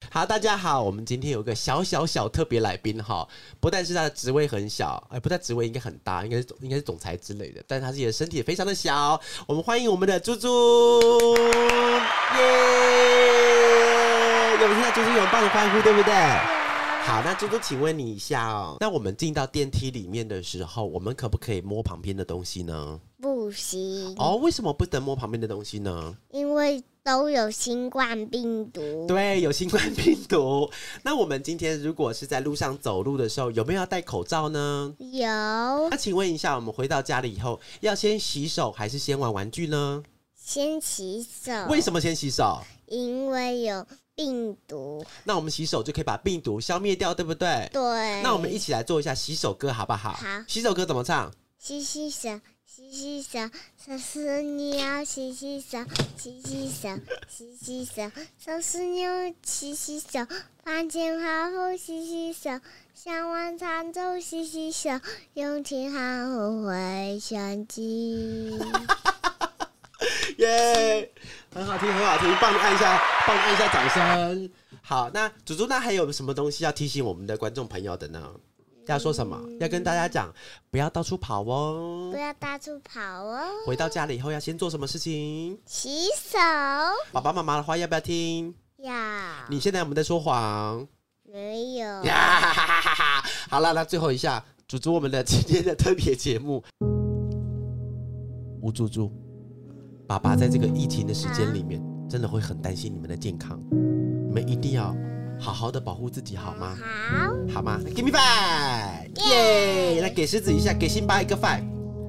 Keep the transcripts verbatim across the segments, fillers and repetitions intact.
好，大家好，我们今天有个小小小特别来宾哈，不但是他的职位很小，哎，不但职位应该很大，应该是应该是总裁之类的，但是他自己的身体也非常的小。我们欢迎我们的猪猪，耶！有没有听到猪猪有棒的欢呼，对不对？好，那猪猪，请问你一下哦，那我们进到电梯里面的时候，我们可不可以摸旁边的东西呢？ 不行。 哦，为什么不能摸旁边的东西呢？ 因为都有新冠病毒。 对，有新冠病毒。那我们今天如果是在路上走路的时候，有没有要戴口罩呢？ 有。 那请问一下，我们回到家里以后，要先洗手还是先玩玩具呢？ 先洗手。 为什么先洗手？ 因为有病毒。 那我们洗手就可以把病毒消灭掉，对不对？ 对。 那我们一起来做一下洗手歌，好不好？ 好。 洗手歌怎么唱？ 洗洗手，洗洗手，手是你要洗洗手，洗洗手，洗洗手，手是你要洗洗手，饭前饭后洗洗手，想晚餐后洗洗手，用前喊后回想起。 耶、yeah ，很好听，很好听，帮你按一下，帮你按一下掌声。好，那猪猪，那还有什么东西要提醒我们的观众朋友的呢？要说什么？要跟大家讲，不要到处跑哦， 不要到处跑哦。 回到家里以后要先做什么事情？ 洗手。 爸爸妈妈的话要不要听？ 要。 你现在有没有在说谎？ 没有。 呀哈哈哈哈！好了，那最后一下，猪猪，我们的今天的特别节目，吴猪猪，爸爸在这个疫情的时间里面，真的会很担心你们的健康，你们一定要好好的保护自己，好吗？ 好， 好吗 ？Give me five， 耶！来给狮子一下，给辛巴一个 five，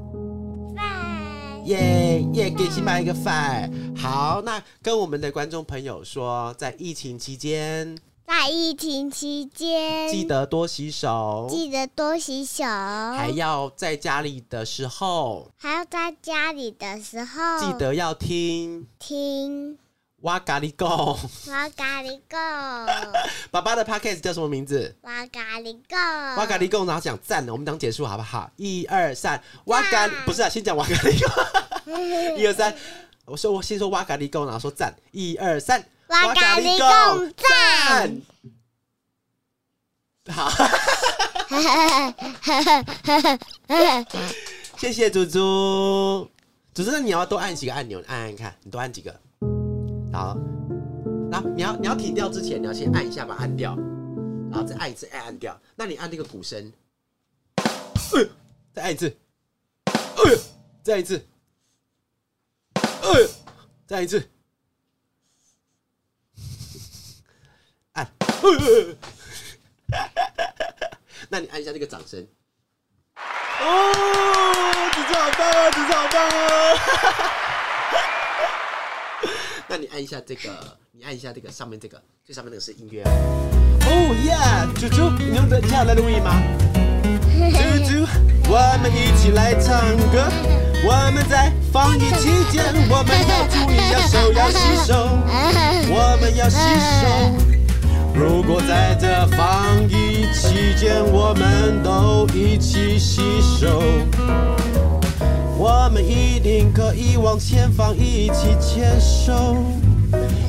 five， 耶耶！给辛巴一个 five。好，那跟我们的观众朋友说，在疫情期间， 在疫情期间， 记得多洗手， 记得多洗手， 还要在家里的时候， 还要在家里的时候， 记得要听听。 哇咖喱贡， 哇咖喱贡， 爸爸的 podcast 叫什么名字？ 哇咖喱贡， 哇咖喱贡，然后讲赞了，我们讲结束好不好？一二三，哇咖不是啊，先讲哇咖喱贡，一二三，我说我先说哇咖喱贡，然后说赞，一二三， 哇咖喱贡赞， 好，谢谢猪猪，猪猪，那你要多按几个按钮，按按看，你多按几个。好，然后你要你要停掉之前，你要先按一下把它按掉，然后再按一次，按按掉。那你按那个鼓声，呃，再按一次，呃，再按一次，呃，再按一次，按，呃，那你按一下这个掌声。哦，猪猪好棒啊，猪猪好棒啊！那你按一下这个，你按一下这个上面这个，最上面那个是音乐。哦耶，猪猪，你用得下来录音吗？猪猪，我们一起来唱歌。我们在防疫期间，我们要注意，要手要洗手，我们要洗手。如果在这防疫期间，我们都一起洗手，我们一定可以往前方一起牵手，耶、yeah ！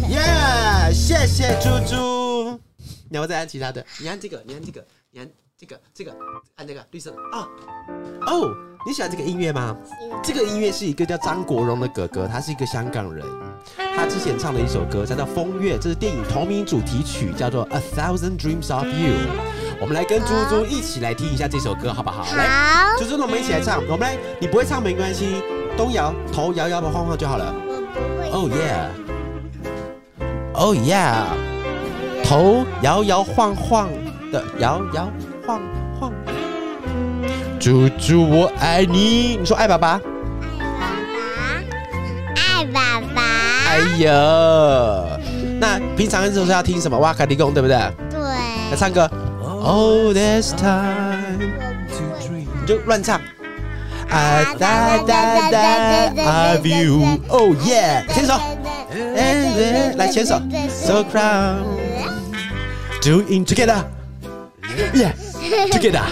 谢谢猪猪。你要不再按其他的？你按这个，你按这个，你按这个，这个，按这个绿色的啊。哦，你喜欢这个音乐吗？这个音乐是一个叫张国荣的哥哥，他是一个香港人。他之前唱的一首歌叫做《风月》，这是电影同名主题曲，叫做《A Thousand Dreams of You》。我们来跟猪猪一起来听一下这首歌，好不好？ 好， 来，猪猪，那我们一起来唱。我们来，你不会唱没关系，东摇头摇摇晃晃就好了。 我不会。 Oh yeah，Oh yeah， 头摇摇晃晃的摇摇晃晃。猪猪，我爱你，你说爱爸爸。 爱爸爸。 哎呀，那平常的时候是要听什么？哇卡利贡，对不对？ 对。 来唱歌。Oh, this time， 你就乱唱。I da da da of you, oh yeah， 牵手。来牵手。So proud, doing together, yeah, together.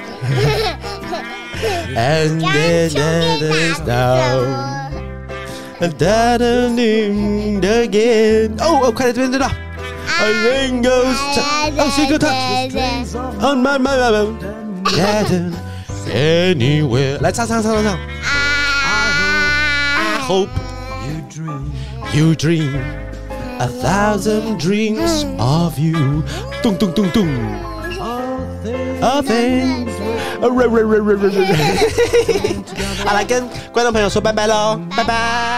And then there's down, and that again. 哦哦，快来这边这边。 I think goes I see good touch on my mind anywhere 来唱唱唱唱唱 I hope you dream you dream a thousand dreams of you 咚咚咚咚 All things 好来跟观众朋友说拜拜咯拜拜